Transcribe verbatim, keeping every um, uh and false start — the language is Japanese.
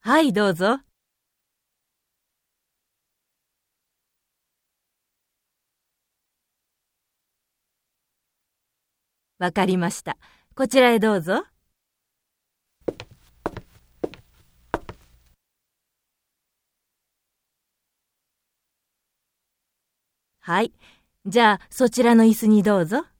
はい、どうぞ。わかりました。こちらへどうぞ。はい。じゃあ、そちらの椅子にどうぞ。